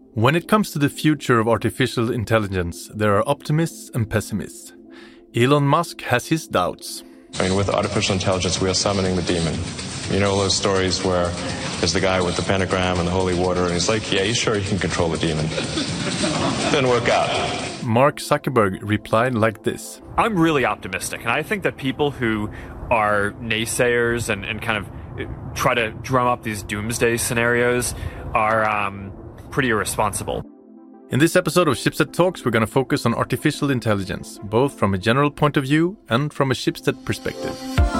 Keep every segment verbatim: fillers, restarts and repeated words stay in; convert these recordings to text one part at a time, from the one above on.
When it comes to the future of artificial intelligence, there are optimists and pessimists. Elon Musk has his doubts. I mean, with artificial intelligence, we are summoning the demon. You know those stories where there's the guy with the pentagram and the holy water, and he's like, yeah, you sure you can control the demon? Didn't work out. Mark Zuckerberg replied like this. I'm really optimistic, and I think that people who are naysayers and, and kind of try to drum up these doomsday scenarios are um, pretty irresponsible. In this episode of Schibsted Talks, we're going to focus on artificial intelligence, both from a general point of view and from a Schibsted perspective.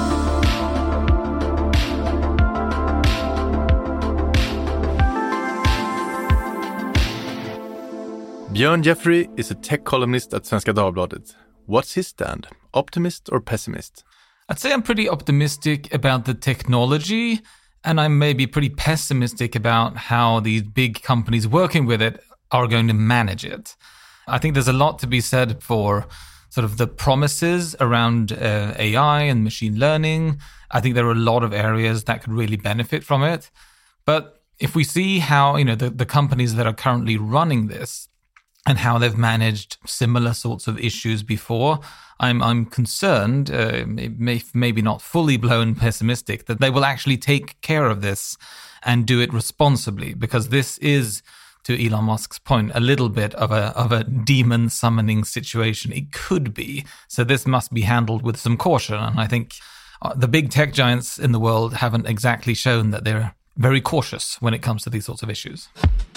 Björn Jeffrey is a tech columnist at Svenska Dagbladet. What's his stand? Optimist or pessimist? I'd say I'm pretty optimistic about the technology, and I'm maybe pretty pessimistic about how these big companies working with it are going to manage it. I think there's a lot to be said for sort of the promises around uh, A I and machine learning. I think there are a lot of areas that could really benefit from it. But if we see how, you know, the, the companies that are currently running this and how they've managed similar sorts of issues before, I'm I'm concerned, uh, may, maybe not fully blown pessimistic, that they will actually take care of this and do it responsibly, because this is, to Elon Musk's point, a little bit of a of a demon summoning situation. It could be. So this must be handled with some caution. And I think the big tech giants in the world haven't exactly shown that they're very cautious when it comes to these sorts of issues.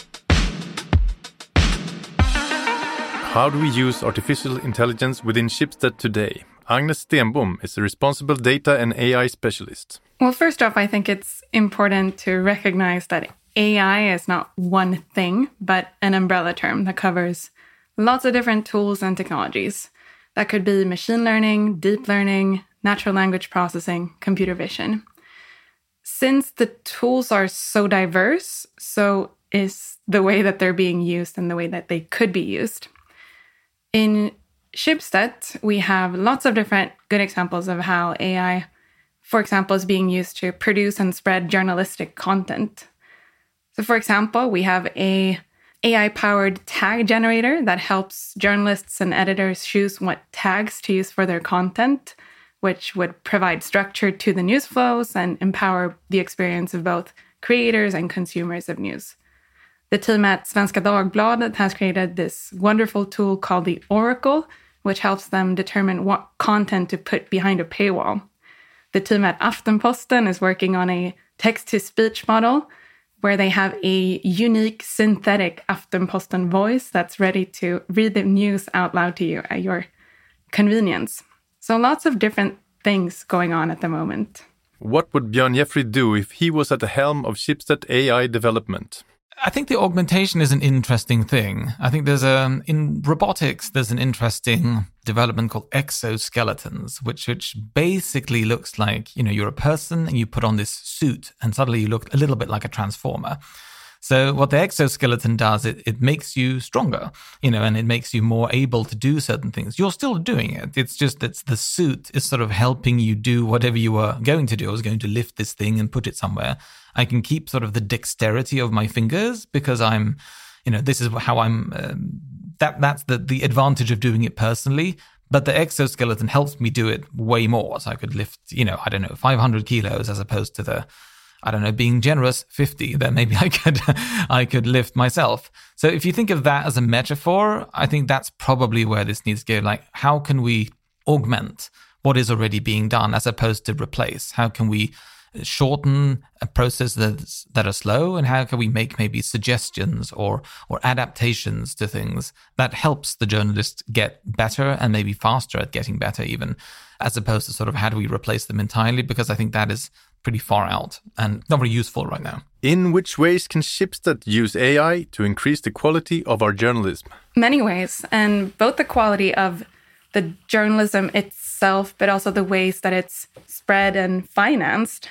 How do we use artificial intelligence within Schibsted today? Agnes Stenbom is a responsible data and A I specialist. Well, first off, I think it's important to recognize that A I is not one thing, but an umbrella term that covers lots of different tools and technologies. That could be machine learning, deep learning, natural language processing, computer vision. Since the tools are so diverse, so is the way that they're being used and the way that they could be used. In Schibsted, we have lots of different good examples of how A I, for example, is being used to produce and spread journalistic content. So, for example, we have a AI-powered tag generator that helps journalists and editors choose what tags to use for their content, which would provide structure to the news flows and empower the experience of both creators and consumers of news. The team at Svenska Dagbladet has created this wonderful tool called the Oracle, which helps them determine what content to put behind a paywall. The team at Aftenposten is working on a text-to-speech model where they have a unique synthetic Aftenposten voice that's ready to read the news out loud to you at your convenience. So lots of different things going on at the moment. What would Björn Jeffrey do if he was at the helm of Schibsted A I development? I think the augmentation is an interesting thing. I think there's a, in robotics, there's an interesting development called exoskeletons, which which basically looks like, you know, you're a person and you put on this suit and suddenly you look a little bit like a transformer. So what the exoskeleton does, it, it makes you stronger, you know, and it makes you more able to do certain things. You're still doing it. It's just that the suit is sort of helping you do whatever you were going to do. I was going to lift this thing and put it somewhere. I can keep sort of the dexterity of my fingers because I'm, you know, this is how I'm, um, that that's the, the advantage of doing it personally. But the exoskeleton helps me do it way more. So I could lift, you know, I don't know, five hundred kilos as opposed to the, I don't know, being generous, fifty, then maybe I could I could lift myself. So if you think of that as a metaphor, I think that's probably where this needs to go. Like, how can we augment what is already being done as opposed to replace? How can we shorten a process that's, that are slow, and how can we make maybe suggestions or or adaptations to things that helps the journalist get better and maybe faster at getting better even, as opposed to sort of how do we replace them entirely, because I think that is pretty far out and not very useful right now. In which ways can Schibsted use A I to increase the quality of our journalism? Many ways, and both the quality of the journalism itself, but also the ways that it's spread and financed.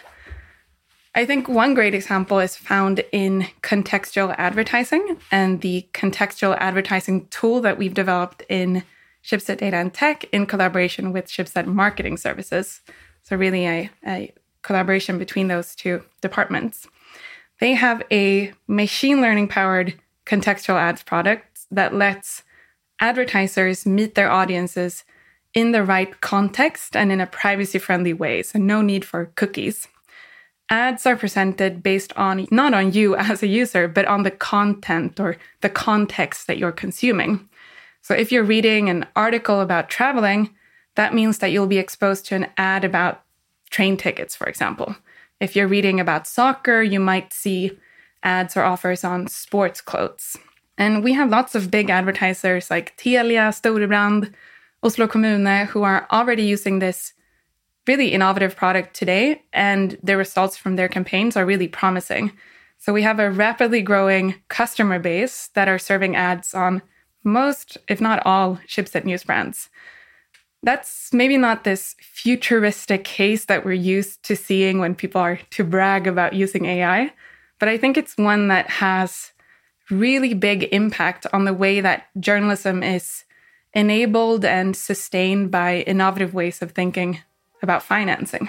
I think one great example is found in contextual advertising and the contextual advertising tool that we've developed in Schibsted Data and Tech in collaboration with Schibsted Marketing Services. So really a, a collaboration between those two departments. They have a machine learning powered contextual ads product that lets advertisers meet their audiences in the right context and in a privacy-friendly way, so no need for cookies. Ads are presented based on, not on you as a user, but on the content or the context that you're consuming. So if you're reading an article about traveling, that means that you'll be exposed to an ad about train tickets, for example. If you're reading about soccer, you might see ads or offers on sports clothes. And we have lots of big advertisers like Telia, Storebrand, Oslo Kommune, who are already using this really innovative product today, and the results from their campaigns are really promising. So we have a rapidly growing customer base that are serving ads on most, if not all, Schibsted news brands. That's maybe not this futuristic case that we're used to seeing when people are to brag about using A I, but I think it's one that has really big impact on the way that journalism is enabled and sustained by innovative ways of thinking about financing.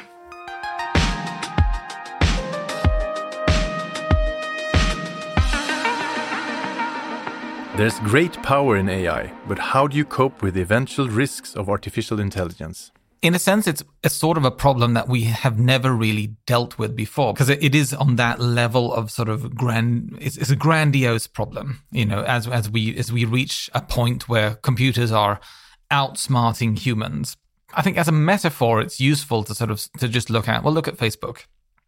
There's great power in A I, but how do you cope with the eventual risks of artificial intelligence? In a sense, it's a sort of a problem that we have never really dealt with before, because it is on that level of sort of grand, it's, it's a grandiose problem, you know, as, as we, as we reach a point where computers are outsmarting humans. I think as a metaphor, it's useful to sort of, to just look at, well, look at Facebook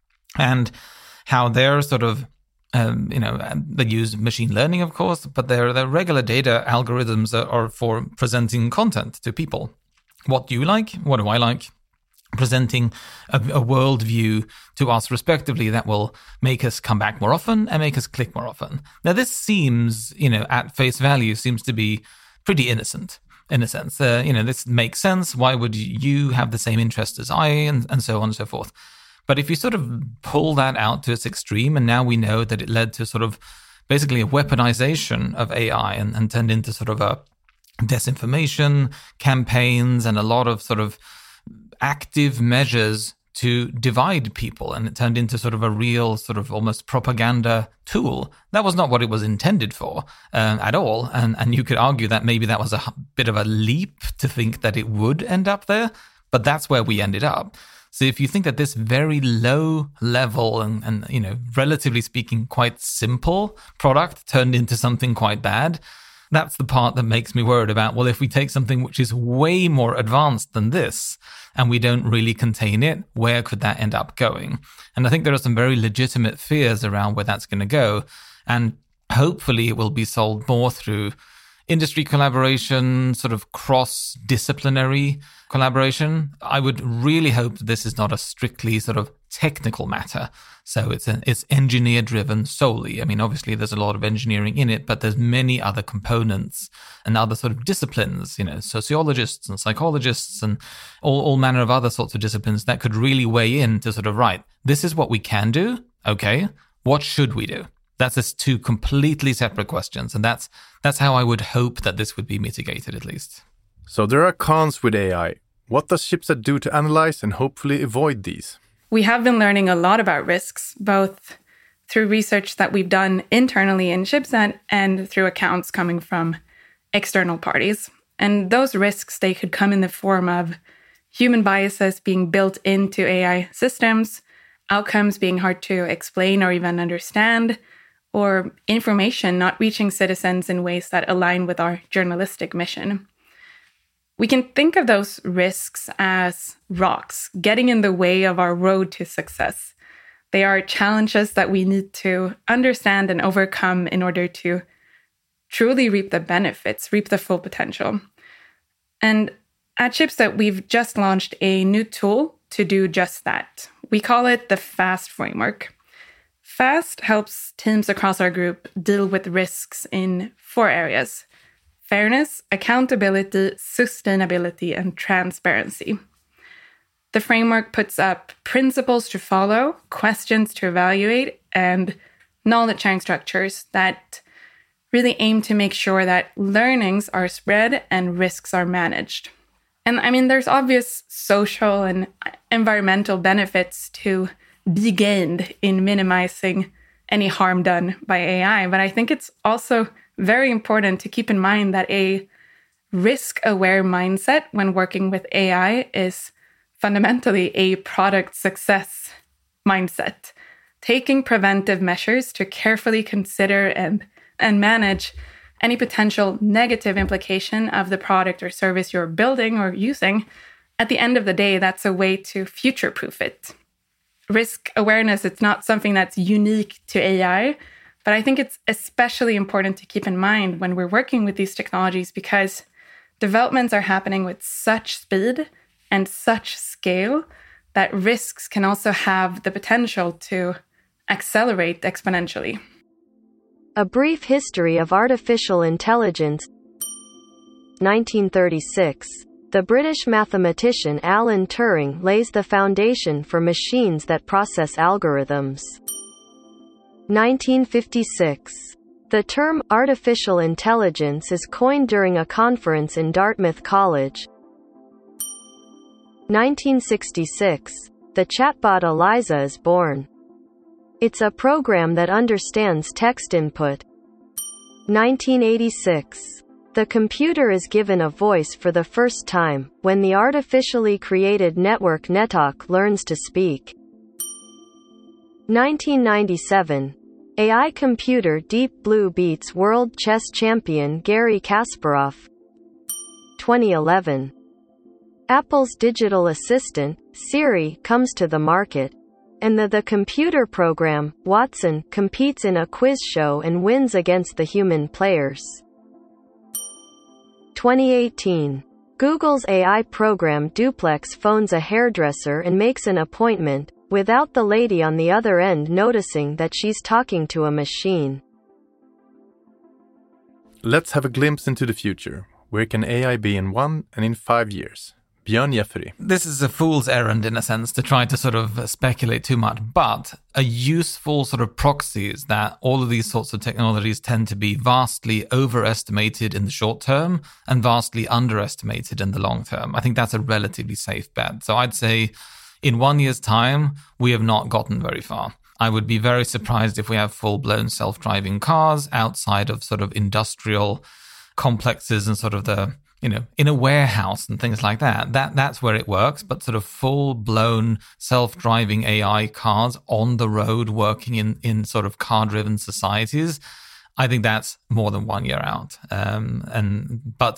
and how they're sort of, um, you know, they use machine learning, of course, but their, their regular data algorithms are, are for presenting content to people. What do you like? What do I like? Presenting a, a worldview to us respectively that will make us come back more often and make us click more often. Now, this seems, you know, at face value, seems to be pretty innocent in a sense. Uh, you know, this makes sense. Why would you have the same interest as I, and, and so on and so forth. But if you sort of pull that out to its extreme, and now we know that it led to sort of basically a weaponization of A I and, and turned into sort of a disinformation campaigns and a lot of sort of active measures to divide people, and it turned into sort of a real sort of almost propaganda tool. That was not what it was intended for uh, at all, and and you could argue that maybe that was a bit of a leap to think that it would end up there, but that's where we ended up. So if you think that this very low level and, and you know, relatively speaking, quite simple product turned into something quite bad, that's the part that makes me worried about, well, if we take something which is way more advanced than this and we don't really contain it, where could that end up going? And I think there are some very legitimate fears around where that's going to go. And hopefully it will be solved more through industry collaboration, sort of cross-disciplinary collaboration. I would really hope that this is not a strictly sort of technical matter. So it's a, it's engineer driven solely. I mean, obviously there's a lot of engineering in it, but there's many other components and other sort of disciplines, you know, sociologists and psychologists and all, all manner of other sorts of disciplines that could really weigh in to sort of, right, this is what we can do. Okay. What should we do? That's just two completely separate questions. And that's, that's how I would hope that this would be mitigated at least. So there are cons with A I. What does Schibsted do to analyze and hopefully avoid these? We have been learning a lot about risks, both through research that we've done internally in Schibsted and through accounts coming from external parties. And those risks, they could come in the form of human biases being built into A I systems, outcomes being hard to explain or even understand, or information not reaching citizens in ways that align with our journalistic mission. We can think of those risks as rocks getting in the way of our road to success. They are challenges that we need to understand and overcome in order to truly reap the benefits, reap the full potential. And at Schibsted, we've just launched a new tool to do just that. We call it the FAST framework. FAST helps teams across our group deal with risks in four areas: fairness, accountability, sustainability, and transparency. The framework puts up principles to follow, questions to evaluate, and knowledge sharing structures that really aim to make sure that learnings are spread and risks are managed. And I mean, there's obvious social and environmental benefits to be gained in minimizing any harm done by A I. But I think it's also very important to keep in mind that a risk-aware mindset when working with A I is fundamentally a product success mindset, taking preventive measures to carefully consider and, and manage any potential negative implication of the product or service you're building or using. At the end of the day, that's a way to future-proof it. Risk awareness, it's not something that's unique to A I, but I think it's especially important to keep in mind when we're working with these technologies because developments are happening with such speed and such scale that risks can also have the potential to accelerate exponentially. A Brief History of Artificial Intelligence, nineteen thirty-six. The British mathematician Alan Turing lays the foundation for machines that process algorithms. nineteen fifty-six. The term artificial intelligence is coined during a conference in Dartmouth College. nineteen sixty-six. The chatbot Eliza is born. It's a program that understands text input. nineteen eighty-six. The computer is given a voice for the first time, when the artificially created network Netalk learns to speak. nineteen ninety-seven. A I computer Deep Blue beats world chess champion Garry Kasparov. twenty eleven. Apple's digital assistant, Siri, comes to the market, and the, the computer program, Watson, competes in a quiz show and wins against the human players. twenty eighteen. Google's A I program Duplex phones a hairdresser and makes an appointment, without the lady on the other end noticing that she's talking to a machine. Let's have a glimpse into the future. Where can A I be in one and in five years? Björn Jeffrey. This is a fool's errand in a sense to try to sort of speculate too much, but a useful sort of proxy is that all of these sorts of technologies tend to be vastly overestimated in the short term and vastly underestimated in the long term. I think that's a relatively safe bet. So I'd say in one year's time, we have not gotten very far. I would be very surprised if we have full-blown self-driving cars outside of sort of industrial complexes and sort of the, you know, in a warehouse and things like that. That that's where it works, but sort of full-blown self-driving A I cars on the road working in, in sort of car-driven societies, I think that's more than one year out. Um, and but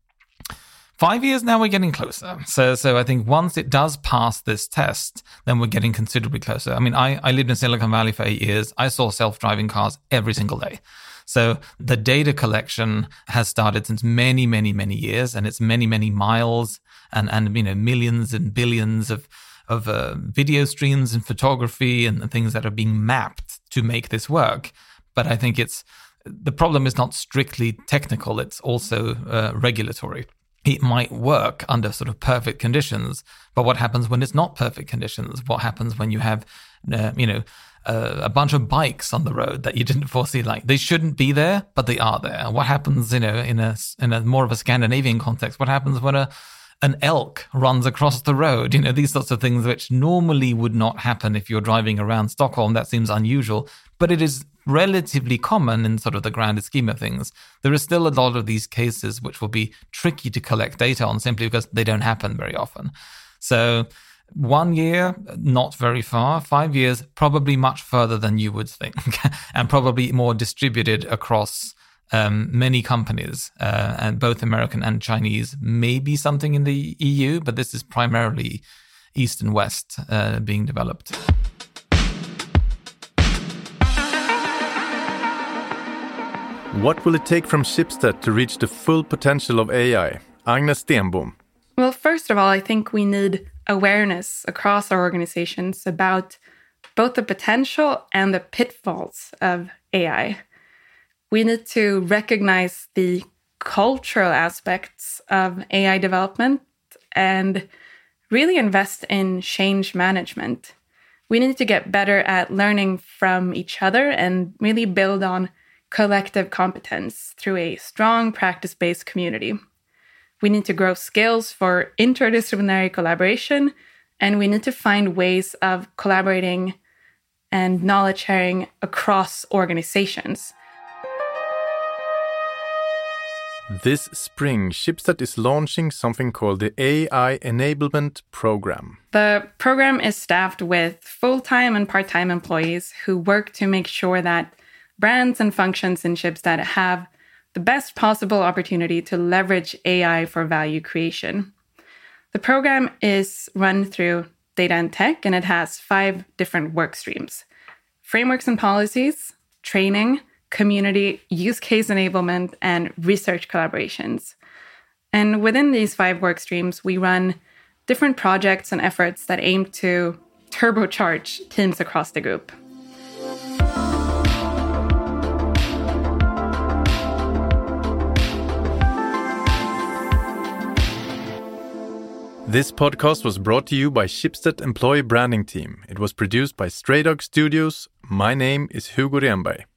five years now, we're getting closer. So so I think once it does pass this test, then we're getting considerably closer. I mean, I, I lived in Silicon Valley for eight years. I saw self-driving cars every single day. So the data collection has started since many, many, many years, and it's many, many miles and, and you know, millions and billions of of uh, video streams and photography and, and things that are being mapped to make this work. But I think it's the problem is not strictly technical; it's also uh, regulatory. It might work under sort of perfect conditions, but what happens when it's not perfect conditions? What happens when you have, uh, you know, uh, a bunch of bikes on the road that you didn't foresee? Like they shouldn't be there, but they are there. What happens, you know, in a in a more of a Scandinavian context? What happens when a an elk runs across the road? You know, these sorts of things which normally would not happen if you're driving around Stockholm. That seems unusual, but it is relatively common in sort of the grander scheme of things. There is still a lot of these cases which will be tricky to collect data on simply because they don't happen very often. So one year, not very far. Five years, probably much further than you would think, and probably more distributed across um, many companies, uh, and both American and Chinese. Maybe something in the E U, but this is primarily East and West uh, being developed. What will it take from Schibsted to reach the full potential of A I? Agnes Stenbom. Well, first of all, I think we need awareness across our organizations about both the potential and the pitfalls of A I. We need to recognize the cultural aspects of A I development and really invest in change management. We need to get better at learning from each other and really build on collective competence through a strong practice-based community. We need to grow skills for interdisciplinary collaboration, and we need to find ways of collaborating and knowledge sharing across organizations. This spring, Schibsted is launching something called the A I Enablement Program. The program is staffed with full-time and part-time employees who work to make sure that brands and functions in Schibsted have the best possible opportunity to leverage A I for value creation. The program is run through data and tech, and it has five different work streams: frameworks and policies, training, community, use case enablement, and research collaborations. And within these five work streams, we run different projects and efforts that aim to turbocharge teams across the group. This podcast was brought to you by Schibsted Employee Branding Team. It was produced by Stray Dog Studios. My name is Hugo Renberg.